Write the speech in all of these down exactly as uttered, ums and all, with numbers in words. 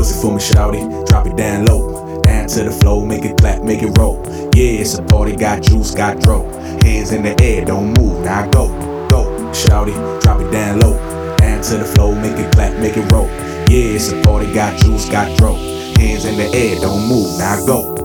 Pussy for me, shawty, drop it down low. Down to the floor, make it clap, make it roll. Yeah, it's a party, got juice, got dro. Hands in the air, don't move, now go, go. Shawty, drop it down low. Down to the floor, make it clap, make it roll. Yeah, it's a party, got juice, got dro. Hands in the air, don't move, now go.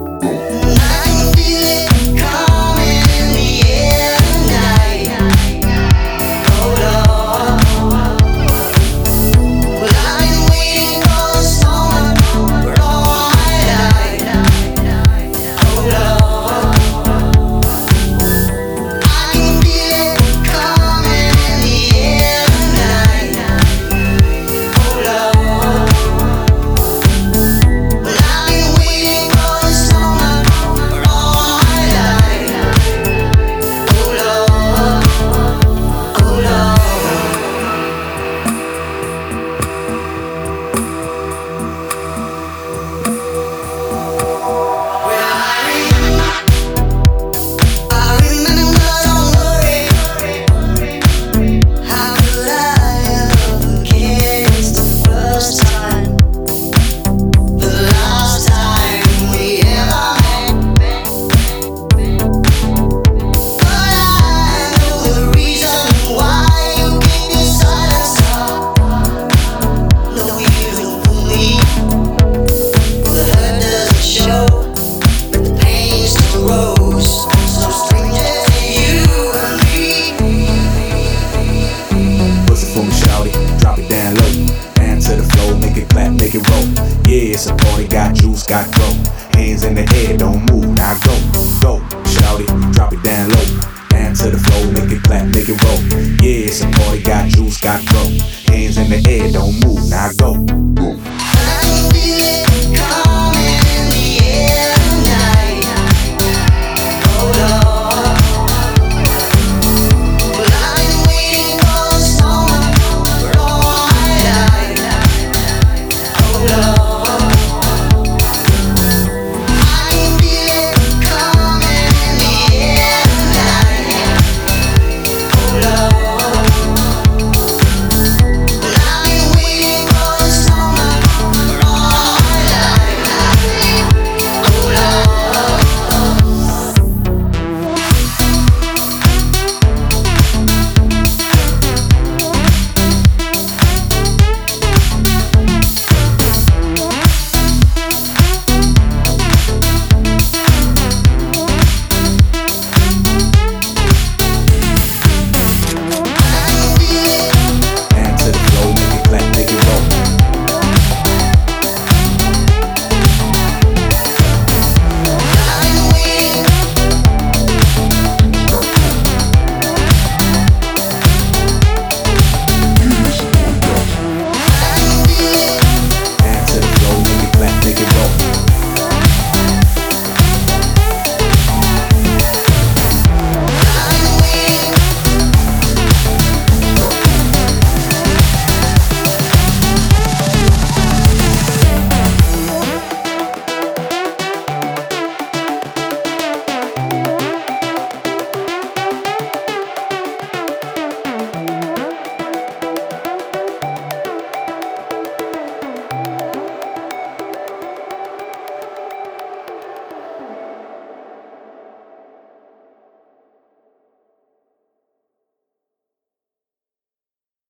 Make it roll. Yeah, it's a party, got juice, got grow. Hands in the air, don't move, now go, go. Shawty, drop it down low. Down to the floor, make it clap, make it roll. Yeah, it's a party, got juice, got grow. Hands in the air, don't move.